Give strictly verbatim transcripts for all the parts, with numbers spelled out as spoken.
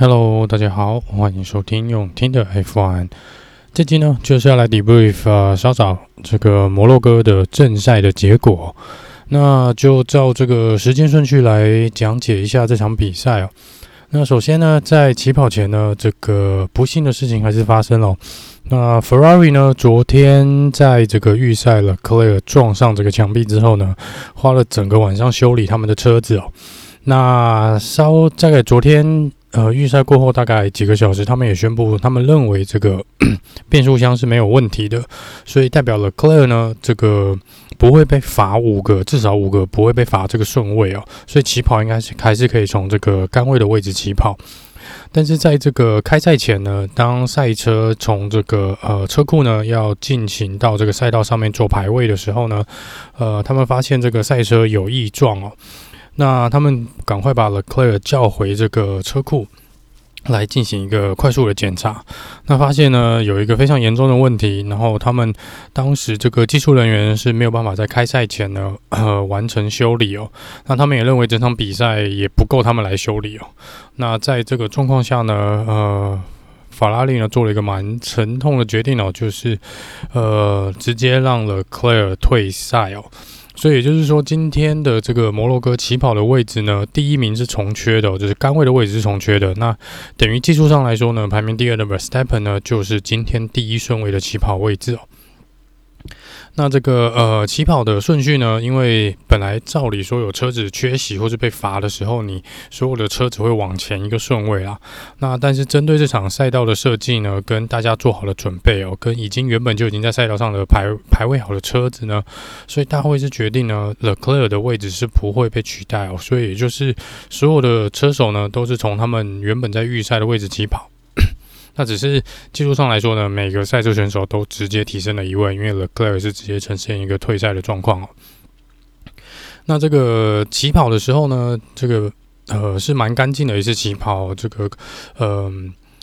Hello， 大家好，歡迎收聽用聽的 F 一。這集呢，就是要來 debrief 呃，稍早這個摩洛哥的正賽的結果。那就照這個時間順序來講解一下這場比賽哦。那首先呢，在起跑前呢，這個不幸的事情還是發生了。那 Ferrari 呢，昨天在這個預賽了 Leclerc 撞上這個牆壁之後呢，花了整個晚上修理他們的車子哦。那稍大概昨天。呃，預賽過後大概幾個小時，他們也宣布，他們認為這個變速箱是沒有問題的，所以代表了 Leclerc 呢，這個不會被罰五個，至少五個不會被罰這個順位哦，所以起跑應該是還是可以從這個桿位的位置起跑。但是在這個開賽前呢，當賽車從這個呃車庫呢要進行到這個賽道上面做排位的時候呢，呃，他們發現這個賽車有異狀哦。那他們趕快把 Leclerc 叫回這個車庫來進行一個快速的檢查。那發現呢有一個非常嚴重的問題，然後他們當時這個技術人員是沒有辦法在開賽前呢呃完成修理哦。那他們也認為整場比賽也不夠他們來修理哦。那在這個狀況下呢，呃，法拉利呢做了一個蠻沉痛的決定哦，就是呃直接讓 Leclerc 退賽哦。所以也就是說，今天的這個摩洛哥起跑的位置呢，第一名是重缺的哦，就是桿位的位置是重缺的。那等於技術上來說呢，排名第二的 Verstappen 呢，就是今天第一順位的起跑位置哦。那這個呃起跑的順序呢，因為本來照理說有車子缺席或是被罰的時候，你所有的車子會往前一個順位啦。那但是針對這場賽道的設計呢，跟大家做好的準備哦，跟已經原本就已經在賽道上的排排位好的車子呢，所以大會是決定呢 Leclerc 的位置是不會被取代哦。所以也就是所有的車手呢，都是從他們原本在預賽的位置起跑。那只是技術上來說呢，每個賽車選手都直接提升了一位，因為 Leclerc 是直接呈現一個退賽的狀況哦。那這個起跑的時候呢，這個呃是蠻乾淨的一次起跑，這個呃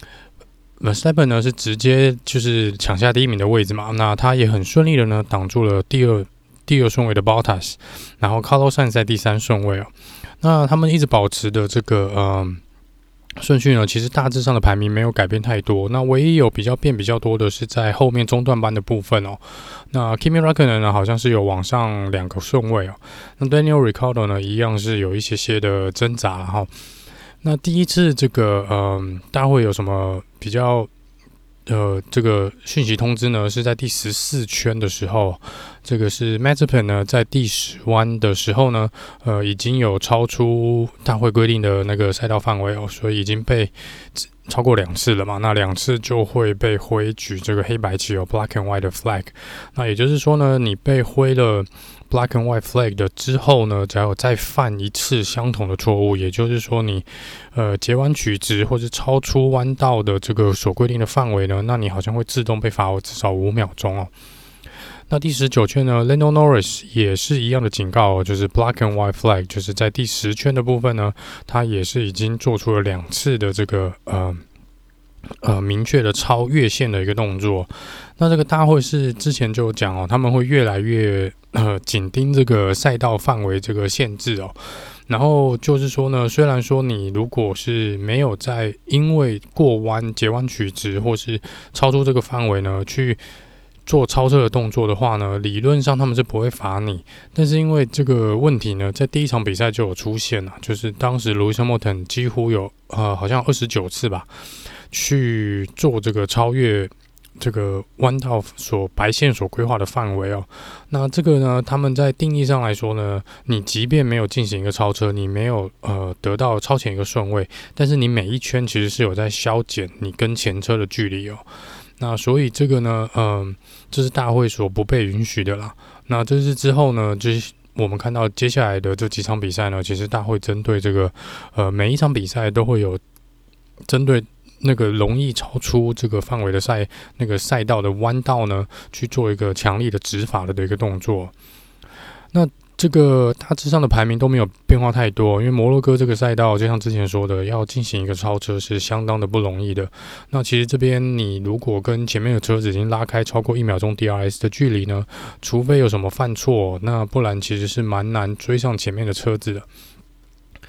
Verstappen 呢是直接就是搶下第一名的位置嘛，那他也很順利的呢擋住了第二第二順位的 Bottas， 然後 Carlos Sainz 在第三順位哦。那他們一直保持的這個呃。順序呢，其實大致上的排名沒有改變太多。那唯一有比較變比較多的是在後面中段班的部分哦。那 Kimi Räikkönen 呢，好像是有往上兩個順位哦。那 Daniel Ricciardo 呢，一樣是有一些些的掙扎哈。那第一次這個嗯，大會有什麼比較呃這個訊息通知呢？是在第十四圈的時候，這個是 Mazepin 呢在第十彎的時候呢，呃已經有超出大會規定的那個賽道範圍哦，所以已經被超過兩次了嘛。那兩次就會被揮舉這個黑白旗哦 ，Black and White 的 flag。那也就是說呢，你被揮了 Black and White flag 的之後呢，只要有再犯一次相同的錯誤，也就是說你呃截彎取直或是超出彎道的這個所規定的範圍呢，那你好像會自動被罰至少五秒鐘哦。那第十九圈呢 Lando Norris 也是一樣的警告哦，就是 Black and White flag， 就是在第十圈的部分呢，他也是已經做出了兩次的這個呃呃明確的超越線的一個動作。那這個大會是之前就有講哦，他們會越來越呃緊盯這個賽道範圍這個限制哦。然後就是說呢，雖然說你如果是沒有在因為過彎截彎取直或是超出這個範圍呢去做超車的動作的話呢，理論上他們是不會罰你。但是因為這個問題呢，在第一場比賽就有出現了，就是當時 Lewis Hamilton 幾乎有呃好像二十九次吧，去做這個超越這個彎道所白線所規劃的範圍哦。那這個呢，他們在定義上來說呢，你即便沒有進行一個超車，你沒有呃得到超前一個順位，但是你每一圈其實是有在削減你跟前車的距離哦。那所以這個呢，嗯、呃，這是大會所不被允許的啦。那這是之後呢，就是我們看到接下來的這幾場比賽呢，其實大會針對這個，呃，每一場比賽都會有針對那個容易超出這個範圍的賽那個賽道的彎道呢，去做一個強力的執法的一個動作。那這個大致上的排名都沒有變化太多，因為摩洛哥這個賽道，就像之前說的，要進行一個超車是相當的不容易的。那其實這邊你如果跟前面的車子已經拉開超過一秒鐘 D R S 的距離呢，除非有什麼犯錯，那不然其實是蠻難追上前面的車子的。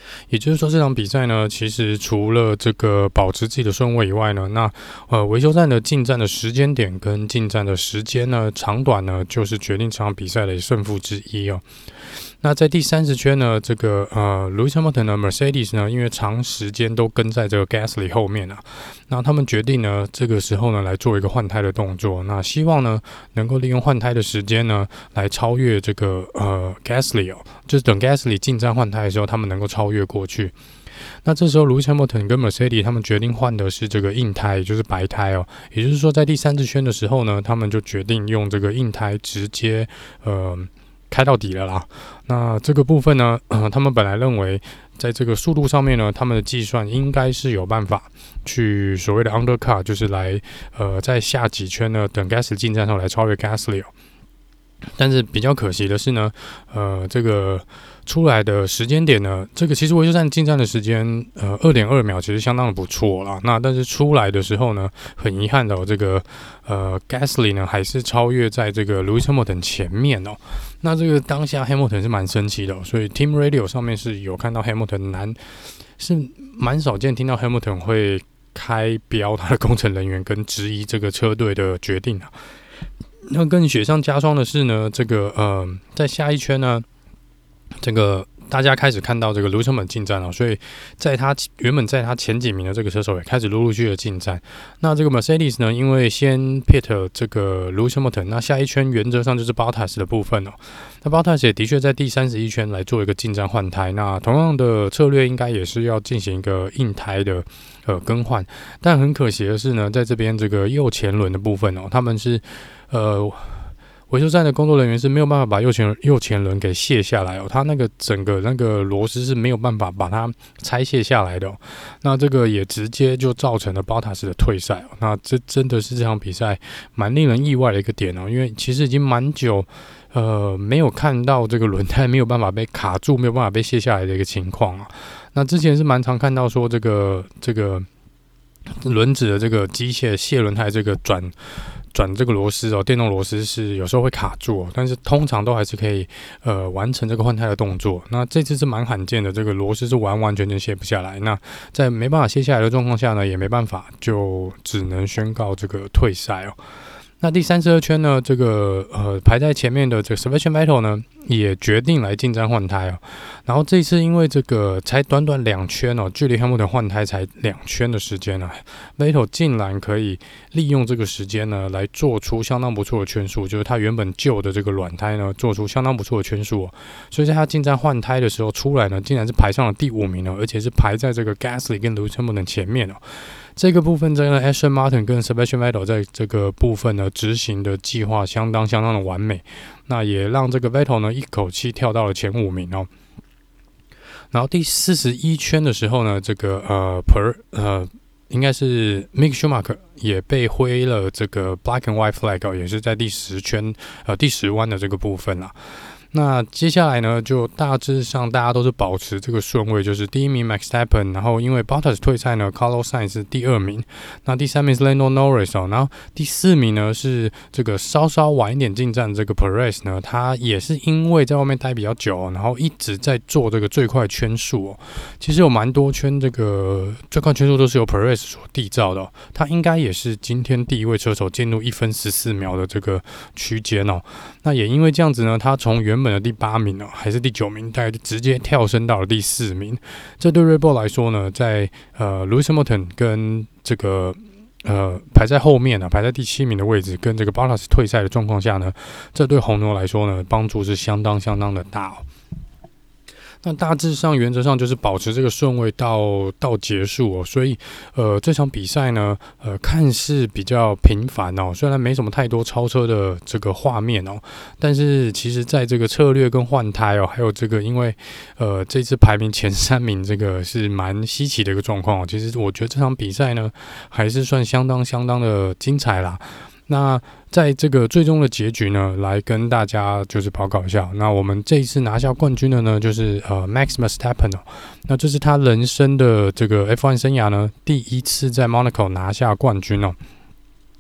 也就是說，這場比賽呢，其實除了這個保持自己的順位以外呢，那呃維修站的進站的時間點跟進站的時間呢，長短呢，就是決定這場比賽的勝負之一哦。那在第三十圈呢，這個呃 Lewis Hamilton 的 Mercedes 呢，因為長時間都跟在這個 Gasly 後面啊，那他們決定呢，這個時候呢來做一個換胎的動作，那希望呢能夠利用換胎的時間呢來超越這個呃 Gasly 哦，就是等 Gasly 進站換胎的時候，他們能夠超越過去。那這時候 Lewis Hamilton 跟 Mercedes 他們決定換的是這個硬胎，也就是白胎哦，也就是說在第三十圈的時候呢，他們就決定用這個硬胎直接呃。開到底了啦。那這個部分呢，呃，他們本來認為在這個速度上面呢，他們的計算應該是有辦法去所謂的 undercut，就是來呃在下幾圈呢，等 Gasly 進站後來超越 Gasly 哦。但是比較可惜的是呢，呃，這個出來的時間點呢，這個其實維修站進站的時間，呃，二點二秒其實相當的不錯啦。那但是出來的時候呢，很遺憾的、哦，這個呃 Gasly 呢還是超越在這個 Lewis Hamilton 前面哦。那這個當下 Hamilton 是蠻生氣的、哦，所以 Team Radio 上面是有看到 Hamilton 難是蠻少見聽到 Hamilton 會開飆他的工程人員跟質疑這個車隊的決定啊。那更雪上加霜的是呢，這個呃，在下一圈呢，這個大家開始看到這個 Lewis Hamilton 進站了，所以在他原本在他前幾名的這個車手也開始陸陸續續的進站。那這個 Mercedes 呢，因為先 pit 這個 Lewis Hamilton，那下一圈原則上就是 Bottas 的部分哦。那 Bottas 也的確在第三十一圈來做一個進站換胎，那同樣的策略應該也是要進行一個硬胎的呃更換，但很可惜的是呢，在這邊這個右前輪的部分哦，他們是呃。維修站的工作人員是沒有辦法把右前右前輪給卸下來哦，他那個整個那個螺絲是沒有辦法把它拆卸下來的哦。那這個也直接就造成了 Bottas 的退賽哦。那這真的是這場比賽蠻令人意外的一個點哦，因為其實已經蠻久呃沒有看到這個輪胎沒有辦法被卡住、沒有辦法被卸下來的一個情況啊。那之前是蠻常看到說這個這個輪子的這個機械卸輪胎這個轉。轉這個螺絲哦，電動螺絲是有時候會卡住哦，但是通常都還是可以呃完成這個換胎的動作。那這次是蠻罕見的，這個螺絲是完完全全卸不下來。那在沒辦法卸下來的狀況下呢，也沒辦法，就只能宣告這個退賽哦。那第三十二圈呢，這個呃排在前面的這個 Sebastian Vettel 呢，也決定來進站換胎哦。然後這一次因為這個才短短兩圈哦，距離 Hamilton 換胎才兩圈的時間啊 ，Vettel 竟然可以利用這個時間呢，來做出相當不錯的圈數，就是他原本舊的這個軟胎呢，做出相當不錯的圈數哦。所以在他進站換胎的時候出來呢，竟然是排上了第五名哦，而且是排在這個 Gasly 跟 Lewis Hamilton 前面哦。這個部分，這個 Aston Martin 跟 Sebastian Vettel 在這個部分呢執行的計劃相當相當的完美，那也讓這個 Vettel 呢一口氣跳到了前五名哦。然後第四十一圈的時候呢，這個呃 Per 呃應該是 Mick Schumacher 也被揮了這個 Black and White Flag 哦，也是在第十圈呃第十彎的這個部分啦。那接下來呢，就大致上大家都是保持這個順位，就是第一名 Max Verstappen， 然後因為 Bottas 退賽呢 Carlos Sainz 是第二名，那第三名是 Lando Norris 哦，然後第四名呢是這個稍稍晚一點進站這個 Perez 呢，他也是因為在外面待比較久哦，然後一直在做這個最快圈數哦，其實有蠻多圈這個最快圈數都是由 Perez 所締造的哦，他應該也是今天第一位車手進入一分十四秒的這個區間哦，那也因為這樣子呢，他從原本的第八名哦，還是第九名，大概就直接跳升到了第四名。這對 Red Bull 來說呢，在呃 Lewis Hamilton 跟這個呃排在後面啊，排在第七名的位置，跟這個 Bottas 退賽的狀況下呢，這對紅牛來說呢，幫助是相當相當的大哦。那大致上原則上就是保持這個順位到到結束哦，所以呃這場比賽呢，呃看似比較平凡哦，雖然沒什麼太多超車的這個畫面哦，但是其實在這個策略跟換胎哦，還有這個因為呃這次排名前三名這個是蠻稀奇的一個狀況哦，其實我覺得這場比賽呢還是算相當相當的精彩啦。那在這個最終的結局呢，來跟大家就是報告一下。那我們這一次拿下冠軍的呢，就是呃 Max Verstappen 哦。那這是他人生的這個 F 一 生涯呢，第一次在 Monaco 拿下冠軍哦。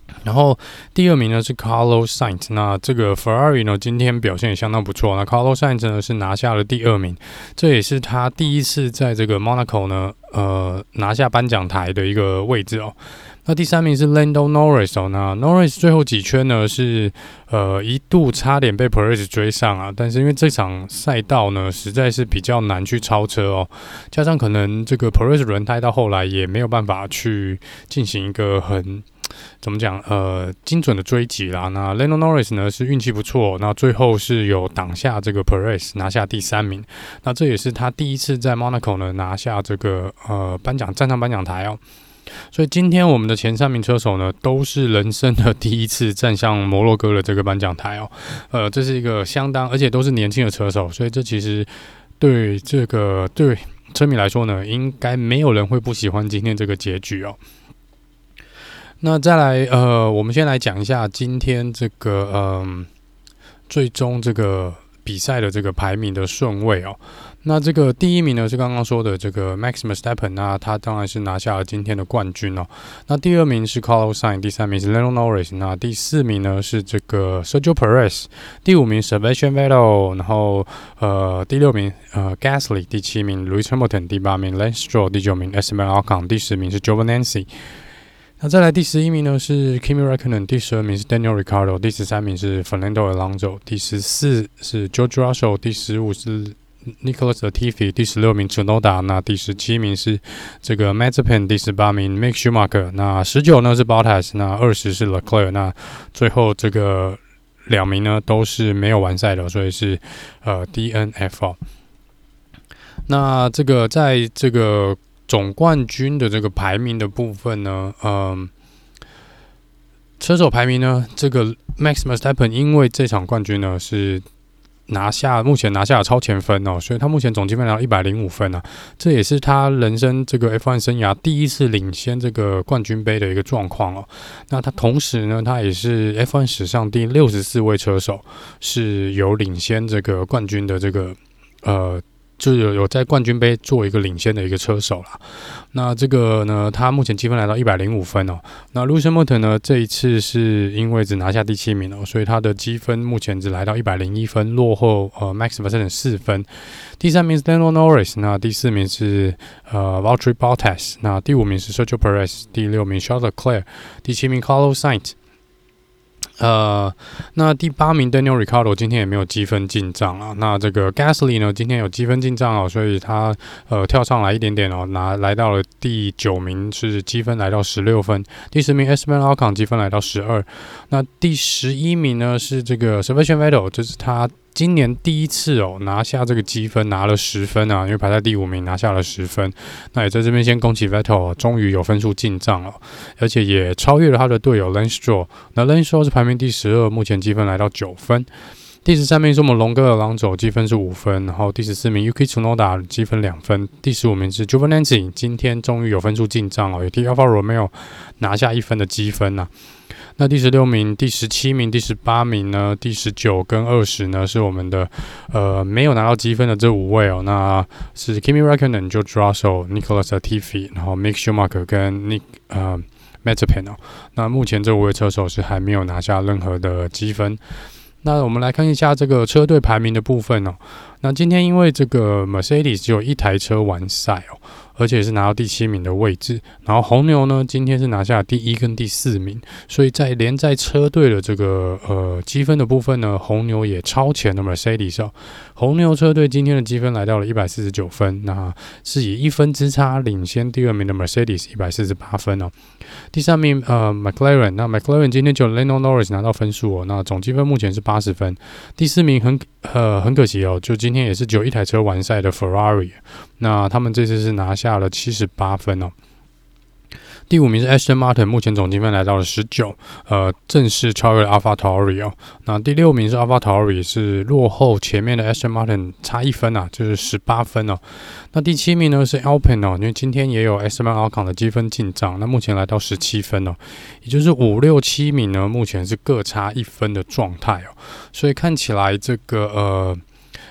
然後第二名呢是 Carlos Sainz， 那這個 Ferrari 呢今天表現也相當不錯，那 Carlos Sainz 呢是拿下了第二名，這也是他第一次在這個 Monaco 呢呃拿下頒獎台的一個位置哦。那第三名是 Lando Norris 哦，那 Norris 最後幾圈呢是呃一度差點被 Perez 追上啊，但是因為這場賽道呢實在是比較難去超車哦，加上可能這個 Perez 輪胎到後來也沒有辦法去進行一個很怎麼講？呃，精準的追擊啦。那 Lando Norris 呢是運氣不錯，那最後是有擋下這個 Perez， 拿下第三名。那這也是他第一次在 Monaco 呢拿下這個呃頒獎站上頒獎台哦。所以今天我們的前三名車手呢都是人生的第一次站上摩洛哥的這個頒獎台哦。呃，這是一個相當，而且都是年輕的車手，所以這其實對這個對車迷來說呢，應該沒有人會不喜歡今天這個結局哦。那再來，呃，我們先來講一下今天這個，嗯、呃，最終這個比賽的這個排名的順位哦。那這個第一名呢是剛剛說的這個 Max Verstappen， 那他當然是拿下了今天的冠軍哦。那第二名是 Carlos Sainz， 第三名是 Lando Norris， 那第四名呢是這個 Sergio Perez， 第五名 Sebastian Vettel， 然後呃第六名呃 Gasly， 第七名 Lewis Hamilton， 第八名 Lance Stroll， 第九名 Esteban Ocon， 第十名是 Giovinazzi。那再來第十一名呢是 Kimi Räikkönen， 第十二名是 Daniel Ricciardo， 第十三名是 Fernando Alonso， 第十四是 George Russell， 第十五是 Nicholas Latifi， 第十六名 Tsunoda， 那第十七名是這個 Mazepin， 第十八名 Mick Schumacher， 那十九呢是 Bottas， 那二十是 Leclerc， 那最後這個兩名呢都是沒有完賽的，所以是呃 D N F 哦。那這個在這個總冠軍的這個排名的部分呢，嗯，車手排名呢，這個 Max Verstappen 因為這場冠軍呢是拿下目前拿下了超前分哦，所以他目前總積分來到一百零五分啊，這也是他人生這個 F 一 生涯第一次領先這個冠軍盃的一個狀況哦。那他同時呢，他也是 F 一 史上第六十四位車手是有領先這個冠軍的這個呃。就有有在冠軍盃做一個領先的一個車手啦。那這個呢，他目前積分來到一百零五分哦。那 Lewis Hamilton 呢，這一次是因為只拿下第七名哦，所以他的積分目前只來到一百零一分，落後呃 Max Verstappen 四分。第三名是 Lando Norris， 那第四名是呃 Valtteri Bottas， 那第五名是 Sergio Perez， 第六名 Charles Leclerc， 第七名 Carlos Sainz。呃，那第八名 Daniel Ricciardo 今天也沒有積分進賬啊。那這個 Gasly 呢，今天有積分進賬哦，所以他呃跳上來一點點哦，拿來到了第九名，是積分來到十六分。第十名 Esteban Ocon 積分來到十二。那第十一名呢是這個 Sebastian Vettel， 這是他今年第一次哦拿下這個積分，拿了十分啊，因為排在第五名拿下了十分。那也在這邊先恭喜 Vettel 哦，終於有分數進賬了，而且也超越了他的隊友 Lance Stroll。那 Lance Stroll 是排名第十二，目前積分來到九分。第十三名是我們龍哥的朗佐，積分是五分。然後第十四名 Yuki Tsunoda 積分兩分。第十五名是 Giovinazzi， 今天終於有分數進賬哦，也替 Alfa Romeo 拿下一分的積分吶、啊。那第十六名、第十七名、第十八名呢？第十九跟二十呢？是我們的呃沒有拿到積分的這五位哦。那是 Kimi Räikkönen、George Russell、Nicholas Latifi， 然後 Mick Schumacher 跟 Nick 呃 Mazepin 哦。那目前這五位車手是還沒有拿下任何的積分。那我們來看一下這個車隊排名的部分哦。那今天因為這個 Mercedes 只有一台車完賽哦，而且是拿到第七名的位置。然後紅牛呢，今天是拿下第一跟第四名，所以在連在車隊的這個呃積分的部分呢，紅牛也超前了 Mercedes 哦。紅牛車隊今天的積分來到了一百四十九分，那是以一分之差領先第二名的 Mercedes 一百四十八分哦。第三名呃 McLaren， 那 McLaren 今天就 Lando Norris 拿到分數哦，那總積分目前是八十分。第四名很呃很可惜哦，就今天也是只有一台車完賽的 Ferrari， 那他們這次是拿下了七十八分哦。第五名是 Aston Martin， 目前總積分來到了十九，呃，正式超越了 AlphaTauri 哦。那第六名是 AlphaTauri， 是落後前面的 Aston Martin 差一分啊，就是十八分哦。那第七名呢是 Alpine 哦，因為今天也有 Esteban Ocon 的積分進賬，那目前來到十七分哦，也就是五六七名呢，目前是各差一分的狀態哦。所以看起來這個呃。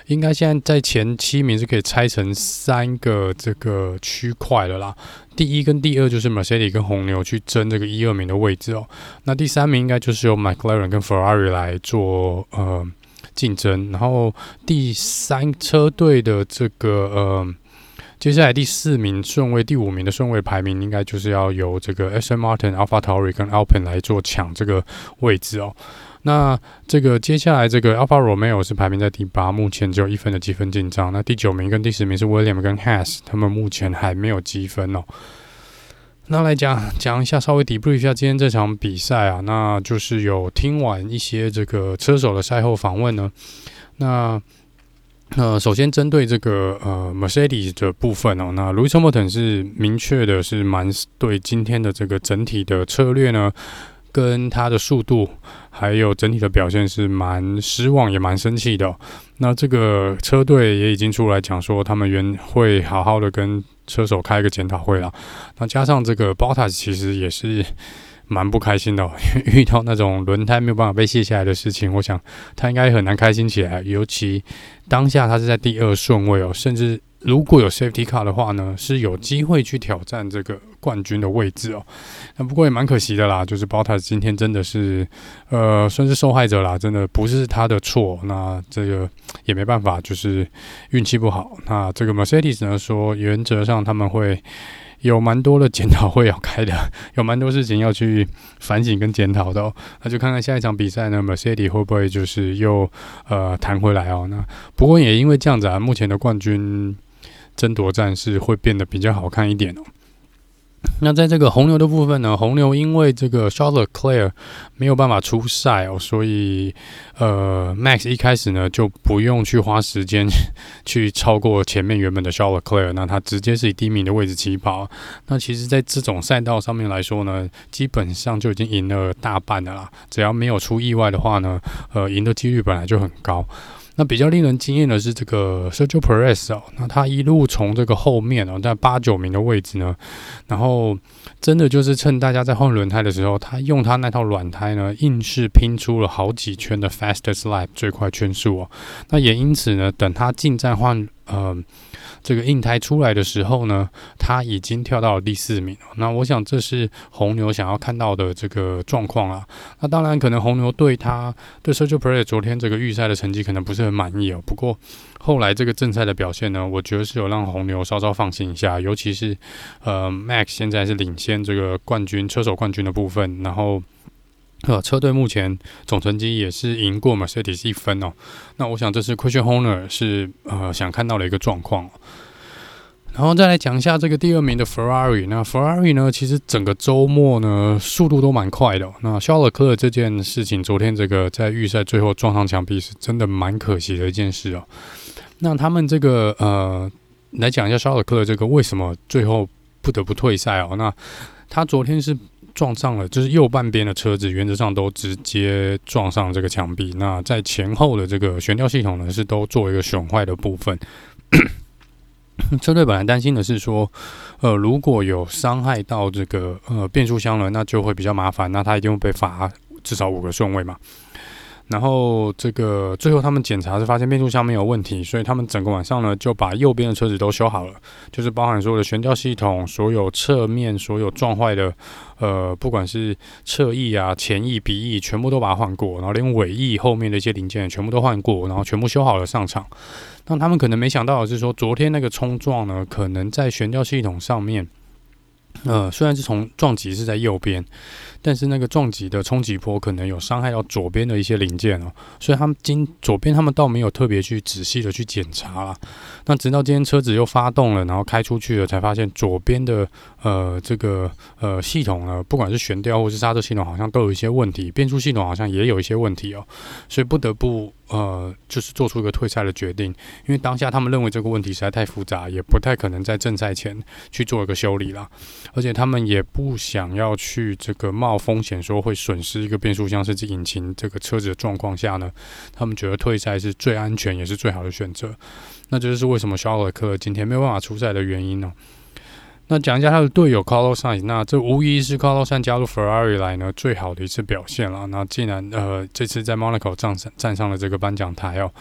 應該現在在前七名是可以拆成三個這個區塊的啦。第一跟第二就是 Mercedes 跟紅牛去爭這個一二名的位置哦。那第三名應該就是由 McLaren 跟 Ferrari 來做呃競爭，然後第三車隊的這個呃。接下來第四名順位、第五名的順位排名，應該就是要由這個 Aston Martin、AlphaTauri 跟 Alpine 來做搶這個位置哦。那這個接下來這個 Alfa Romeo 是排名在第八，目前只有一分的積分進賬。那第九名跟第十名是 Williams 跟 Haas， 他們目前還沒有積分哦。那來講講一下，稍微 debrief 一下今天這場比賽啊，那就是有聽完一些這個車手的賽後訪問呢，那。呃，首先針對這個呃 Mercedes 的部分哦，那 Lewis Hamilton 是明確的是蠻對今天的這個整體的策略呢，跟他的速度還有整體的表現是蠻失望也蠻生氣的哦。那這個車隊也已經出來講說，他們原會好好的跟車手開一個檢討會了。那加上這個 Bottas 其實也是蠻不開心的哦，因為遇到那種輪胎沒有辦法被卸下來的事情，我想他應該很難開心起來。尤其當下他是在第二順位哦，甚至如果有 Safety Car 的話呢，是有機會去挑戰這個冠軍的位置哦。那不過也蠻可惜的啦，就是 Bottas 今天真的是呃算是受害者啦，真的不是他的錯。那這個也沒辦法，就是運氣不好。那這個 Mercedes 呢說，原則上他們會有蠻多的檢討會要開的，有蠻多事情要去反省跟檢討的哦。那就看看下一場比賽呢 ，Mercedes 會不會就是又呃彈回來哦？那不過也因為這樣子啊，目前的冠軍爭奪戰是會變得比較好看一點哦。那在這個紅牛的部分呢，紅牛因為這個 Charles Leclerc 沒有辦法出賽哦，所以呃 Max 一開始呢就不用去花時間去超過前面原本的 Charles Leclerc， 那他直接是以第一名的位置起跑。那其實在這種賽道上面來說呢，基本上就已經贏了大半了啦，只要沒有出意外的話呢，呃贏的幾率本來就很高。那比較令人驚豔的是這個 Sergio Perez 哦，那他一路從這個後面哦，在八九名的位置呢，然後真的就是趁大家在換輪胎的時候，他用他那套軟胎呢，硬是拼出了好幾圈的 fastest lap 最快圈數哦。那也因此呢，等他進站換呃這個硬胎出來的時候呢，他已經跳到了第四名。那我想這是紅牛想要看到的這個狀況啦。那當然，可能紅牛對他對 Sergio Perez 昨天這個預賽的成績可能不是很滿意哦。不過後來這個正賽的表現呢，我覺得是有讓紅牛稍稍放心一下。尤其是呃 Max 現在是領先這個冠軍車手冠軍的部分，然後。呃，車隊目前總成績也是贏過 Mercedes 一分哦。那我想這是 Christian Horner 是呃想看到的一個狀況。然後再來講一下這個第二名的 Ferrari。那 Ferrari 呢，其實整個週末呢速度都蠻快的哦。那肖勒克爾這件事情，昨天這個在預賽最後撞上牆壁，是真的蠻可惜的一件事哦。那他們這個呃來講一下肖勒克爾這個為什麼最後不得不退賽哦？那他昨天是。撞上了，就是右半邊的車子，原則上都直接撞上這個牆壁。那在前後的這個懸吊系統呢，是都做一個損壞的部分。車隊本來擔心的是說，呃，如果有傷害到這個呃變速箱了，那就會比較麻煩，那他一定會被罰至少五個順位嘛。然後這個最後他們檢查是發現變速箱沒有問題，所以他們整個晚上呢就把右邊的車子都修好了，就是包含所有的懸吊系統、所有側面、所有撞壞的，呃，不管是側翼啊、前翼、鼻翼，全部都把它換過，然後連尾翼後面的一些零件全部都換過，然後全部修好了上場。那他們可能沒想到的是說，昨天那個衝撞呢，可能在懸吊系統上面。呃，雖然是從撞擊是在右邊，但是那個撞擊的衝擊波可能有傷害到左邊的一些零件哦，所以他們今左邊他們倒沒有特別去仔細的去檢查啦。那直到今天車子又發動了，然後開出去了，才發現左邊的呃這個呃系統呢，不管是懸吊或是剎車系統，好像都有一些問題，變速系統好像也有一些問題哦，所以不得不呃就是做出一個退賽的決定，因為當下他們認為這個問題實在太複雜，也不太可能在正賽前去做一個修理啦。而且他們也不想要去這個冒風險，說會損失一個變速箱甚至引擎這個車子的狀況下呢，他們覺得退賽是最安全也是最好的選擇。那這就是為什麼肖爾克今天沒有辦法出賽的原因呢、哦？那講一下他的隊友 Carlos Sainz， 那這無疑是 Carlos Sainz 加入 Ferrari 來呢最好的一次表現了。那既然呃這次在 Monaco 站站上了這個頒獎台哦，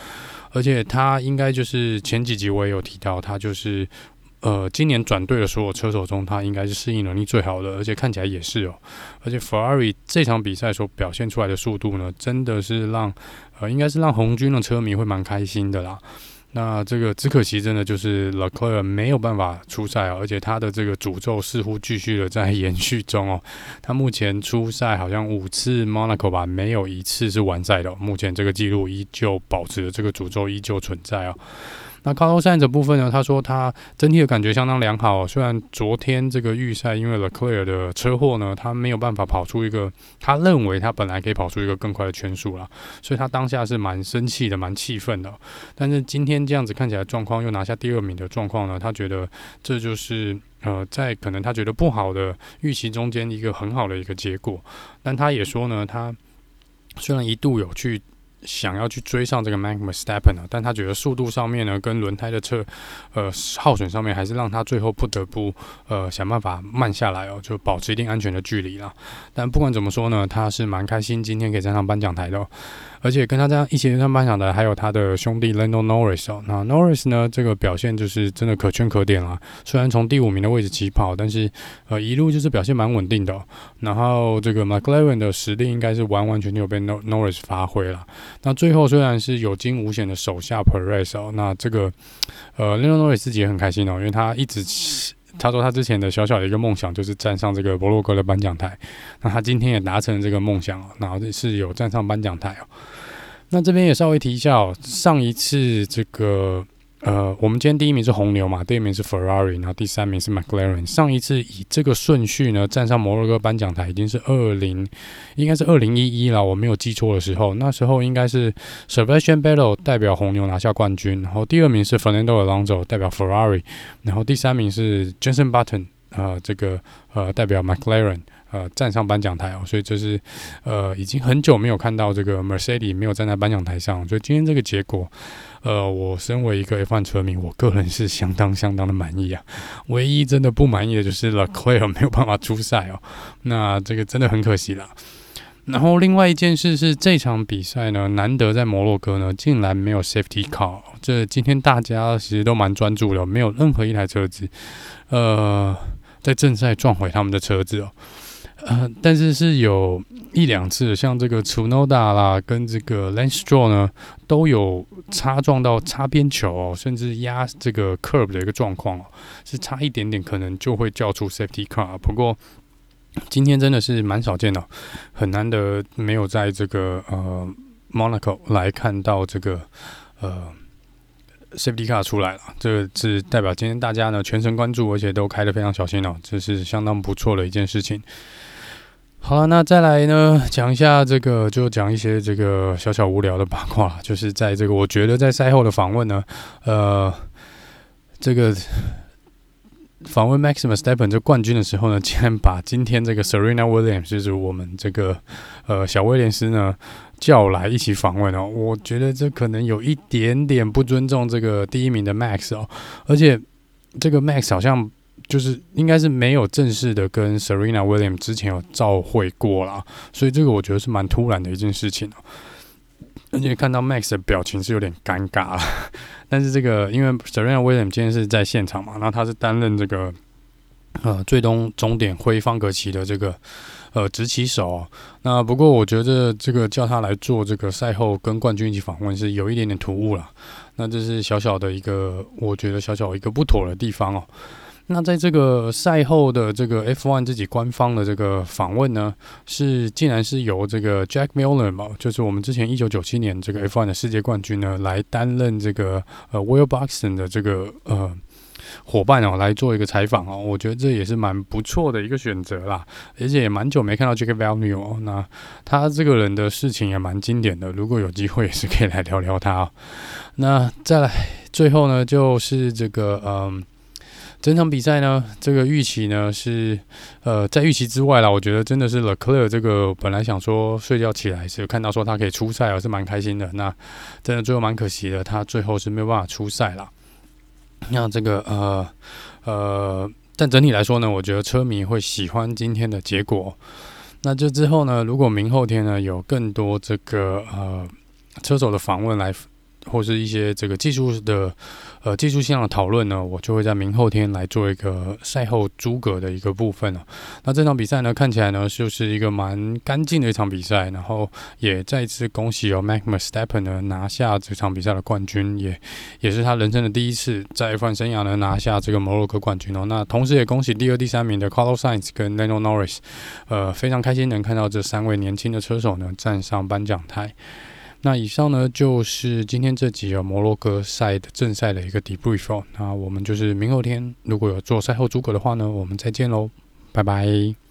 而且他應該就是前幾集我也有提到，他就是呃今年轉隊的所有車手中，他應該是適應能力最好的，而且看起來也是哦。而且 Ferrari 這場比賽所表現出來的速度呢，真的是讓呃應該是讓紅軍的車迷會蠻開心的啦。那這個只可惜，真的就是 Leclerc 沒有辦法出賽哦，而且他的這個詛咒似乎繼續的在延續中哦。他目前出賽好像五次 Monaco 吧，沒有一次是完賽的哦。目前這個記錄依舊保持着，這個詛咒依舊存在哦。那 Carlos Sainz 的部分呢？他說他整體的感覺相當良好哦。雖然昨天這個預賽因為 Leclerc 的車禍呢，他沒有辦法跑出一個他認為他本來可以跑出一個更快的圈數啦，所以他當下是蠻生氣的，蠻氣憤的。但是今天這樣子看起來狀況又拿下第二名的狀況呢，他覺得這就是呃在可能他覺得不好的預期中間一個很好的一個結果。但他也說呢，他雖然一度有去想要去追上這個 Max Verstappen 呢，但他覺得速度上面呢，跟輪胎的車呃耗損上面，還是讓他最後不得不呃想辦法慢下來哦，就保持一定安全的距離啦。但不管怎麼說呢，他是蠻開心今天可以站上頒獎台的哦。而且跟他這樣一起上頒獎的還有他的兄弟 Lando Norris 哦。那 Norris 呢，這個表現就是真的可圈可點啦。雖然從第五名的位置起跑，但是呃一路就是表現蠻穩定的哦。然後這個 McLaren 的實力應該是完完全全有被 Norris 發揮了。那最後雖然是有驚無險的手下 Perez 哦，那這個呃 Lando Norris 自己也很開心哦，因為他一直。他說他之前的小小的一個夢想就是站上這個摩洛哥的頒獎台，那他今天也達成了這個夢想哦，然後是有站上頒獎台哦。那這邊也稍微提一下哦，上一次這個呃，我們今天第一名是紅牛嘛，第二名是 Ferrari， 然後第三名是 McLaren。上一次以這個順序呢站上摩洛哥頒獎台已經是二零，應該是二零一一啦，我沒有記錯的時候，那時候應該是 Sebastian Vettel 代表紅牛拿下冠軍，然後第二名是 Fernando Alonso 代表 Ferrari， 然後第三名是 Jenson Button 呃，這個呃代表 McLaren。呃，站上頒獎台哦，所以這是呃已經很久沒有看到這個 Mercedes 沒有站在頒獎台上，所以今天這個結果，呃，我身為一個 F 一 車迷，我個人是相當相當的滿意啊。唯一真的不滿意的就是 Leclerc 沒有辦法出賽哦，那這個真的很可惜啦。然後另外一件事是，這場比賽呢，難得在摩洛哥呢，竟然沒有 Safety Car。這今天大家其實都蠻專注的，沒有任何一台車子，呃，在正賽撞毀他們的車子哦。呃，但是是有一兩次，像這個 Tsunoda 啦，跟這個 Lance Stroll 呢，都有擦撞到擦邊球哦，甚至壓這個 curb 的一個狀況哦，是差一點點，可能就會叫出 safety car。不過今天真的是蠻少見的，很難得沒有在這個呃 Monaco 來看到這個呃 safety car 出來了，這個是代表今天大家呢全神關注，而且都開得非常小心哦，這是相當不錯的一件事情。好了，那再來呢，講一下這個，就講一些這個小小無聊的八卦，就是在這個我覺得在賽後的訪問呢，呃，這個訪問 Max Verstappen 這冠軍的時候呢，竟然把今天這個 Serena Williams 就是我們這個呃小威廉斯呢叫來一起訪問哦，我覺得這可能有一點點不尊重這個第一名的 Max 哦，而且這個 Max 好像。就是應該是沒有正式的跟 Serena Williams 之前有照會過啦，所以這個我覺得是蠻突然的一件事情哦。而且看到 Max 的表情是有點尷尬啦，但是這個因為 Serena Williams 今天是在現場嘛，然後他是擔任這個呃最終終點揮方格旗的這個呃執旗手哦。那不過我覺得這個叫他來做這個賽後跟冠軍一起訪問是有一點點突兀啦。那這是小小的一個，我覺得小小一個不妥的地方哦。那在這個賽後的這個 F 一 自己官方的這個訪問呢，是竟然是由這個 Jack Miller 嘛，就是我們之前一九九七年這個 F 一 的世界冠軍呢，來擔任這個呃 Will Buxton 的這個呃夥伴哦，來做一個採訪哦。我覺得這也是蠻不錯的一個選擇啦，而且也蠻久沒看到 Jack Villeneuve 哦。那他這個人的事情也蠻經典的，如果有機會也是可以來聊聊他哦。那再來最後呢，就是這個嗯。整場比賽呢，這個預期呢是，呃，在預期之外啦。我覺得真的是 Leclerc 這個本來想說睡覺起來是有看到說他可以出賽，我是蠻開心的。那真的最後蠻可惜的，他最後是沒有辦法出賽啦。那這個呃呃，但整體來說呢，我覺得車迷會喜歡今天的結果。那這之後呢，如果明後天呢有更多這個呃車手的訪問來。 或是一些這個技術的呃技術性的討論呢，我就會在明後天來做一個賽後諸葛的一個部分了。那這場比賽呢，看起來呢就是一個蠻乾淨的一場比賽，然後也再一次恭喜哦 Max Verstappen 呢拿下這場比賽的冠軍，也也是他人生的第一次在 F 一 生涯呢拿下這個摩洛哥冠軍哦。那同時也恭喜第二、第三名的 Carlos Sainz 跟 Lando Norris， 呃，非常開心能看到這三位年輕的車手呢站上頒獎台。那以上呢就是今天這集有摩洛哥賽的正賽的一個 debrief 哦。那我們就是明後天如果有做賽後諸葛的話呢，我們再見嘍，拜拜。